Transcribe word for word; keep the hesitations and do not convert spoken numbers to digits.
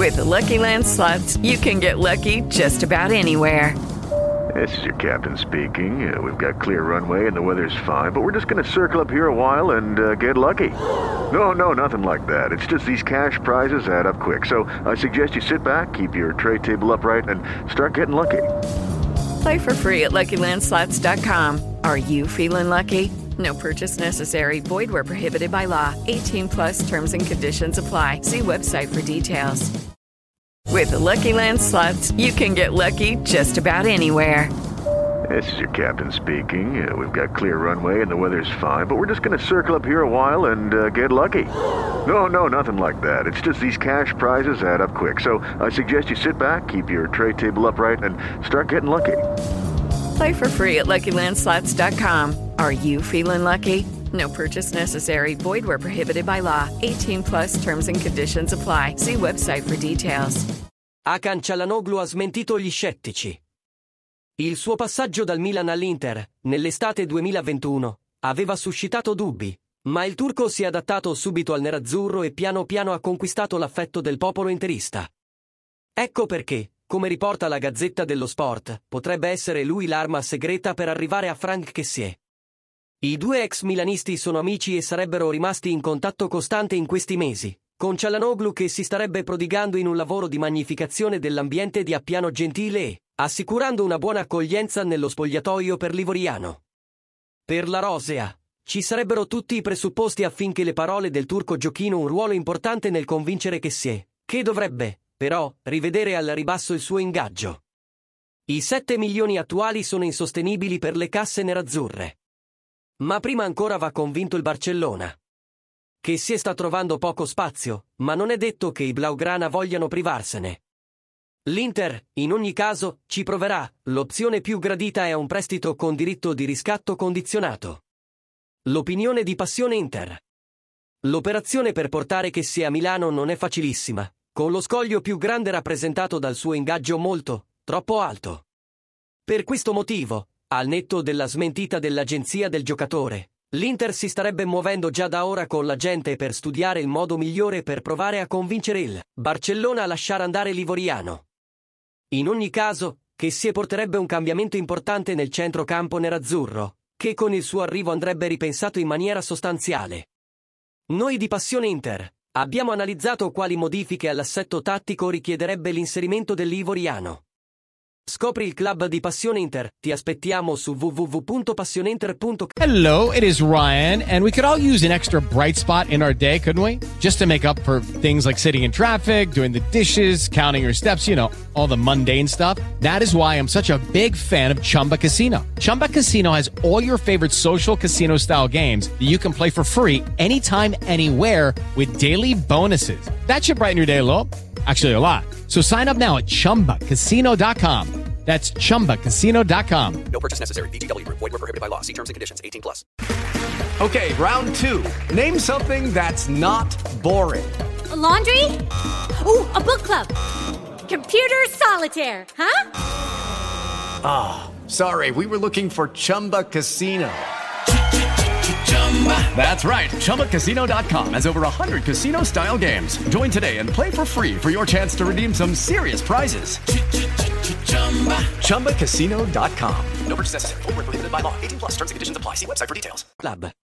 With the Lucky Land Slots, you can get lucky just about anywhere. This is your captain speaking. Uh, we've got clear runway and the weather's fine, but we're just going to circle up here a while and uh, get lucky. No, no, nothing like that. It's just these cash prizes add up quick. So I suggest you sit back, keep your tray table upright, and start getting lucky. Play for free at Lucky Land Slots dot com. Are you feeling lucky? No purchase necessary. Void where prohibited by law. eighteen plus terms and conditions apply. See website for details. With the Lucky Land Slots, you can get lucky just about anywhere. This is your captain speaking. Uh, we've got clear runway and the weather's fine, but we're just going to circle up here a while and uh, get lucky. No, no, nothing like that. It's just these cash prizes add up quick. So I suggest you sit back, keep your tray table upright, and start getting lucky. Play for free at Lucky Land Slots dot com. Are you feeling lucky? No purchase necessary. Void where prohibited by law. eighteen plus terms and conditions apply. See website for details. Hakan Çalhanoğlu ha smentito gli scettici. Il suo passaggio dal Milan all'Inter, nell'estate duemilaventuno, aveva suscitato dubbi, ma il turco si è adattato subito al nerazzurro e piano piano ha conquistato l'affetto del popolo interista. Ecco perché, come riporta la Gazzetta dello Sport, potrebbe essere lui l'arma segreta per arrivare a Franck Kessié. I due ex milanisti sono amici e sarebbero rimasti in contatto costante in questi mesi, con Çalhanoğlu che si starebbe prodigando in un lavoro di magnificazione dell'ambiente di Appiano Gentile e assicurando una buona accoglienza nello spogliatoio per l'ivoriano. Per la rosea, ci sarebbero tutti i presupposti affinché le parole del turco giochino un ruolo importante nel convincere Kessié, che dovrebbe, però, rivedere al ribasso il suo ingaggio. I sette milioni attuali sono insostenibili per le casse nerazzurre. Ma prima ancora va convinto il Barcellona. Kessié sta trovando poco spazio, ma non è detto che i blaugrana vogliano privarsene. L'Inter, in ogni caso, ci proverà. L'opzione più gradita è un prestito con diritto di riscatto condizionato. L'opinione di Passione Inter. L'operazione per portare Kessié a Milano non è facilissima, con lo scoglio più grande rappresentato dal suo ingaggio molto, troppo alto. Per questo motivo, al netto della smentita dell'agenzia del giocatore, l'Inter si starebbe muovendo già da ora con la gente per studiare il modo migliore per provare a convincere il Barcellona a lasciare andare l'ivoriano. In ogni caso, Kessié porterebbe un cambiamento importante nel centrocampo nerazzurro, che con il suo arrivo andrebbe ripensato in maniera sostanziale. Noi di Passione Inter abbiamo analizzato quali modifiche all'assetto tattico richiederebbe l'inserimento dell'ivoriano. Scopri il club di Passione Inter. Ti aspettiamo su w w w punto passioneinter punto com. Hello, it is Ryan, and we could all use an extra bright spot in our day, couldn't we? Just to make up for things like sitting in traffic, doing the dishes, counting your steps, you know, all the mundane stuff. That is why I'm such a big fan of Chumba Casino. Chumba Casino has all your favorite social casino-style games that you can play for free anytime, anywhere with daily bonuses. That should brighten your day a little. Actually, a lot. So sign up now at chumba casino dot com. That's chumba casino dot com. No purchase necessary. V G W Group. Void where prohibited by law. See terms and conditions. eighteen plus. Okay, round two. Name something that's not boring. A laundry? Ooh, a book club. Computer solitaire, huh? Ah, oh, sorry. We were looking for Chumba Casino. That's right. chumba casino dot com has over one hundred casino-style games. Join today and play for free for your chance to redeem some serious prizes. chumba casino dot com. No purchase necessary. Void where prohibited by law. eighteen plus. Terms and conditions apply. See website for details. Club.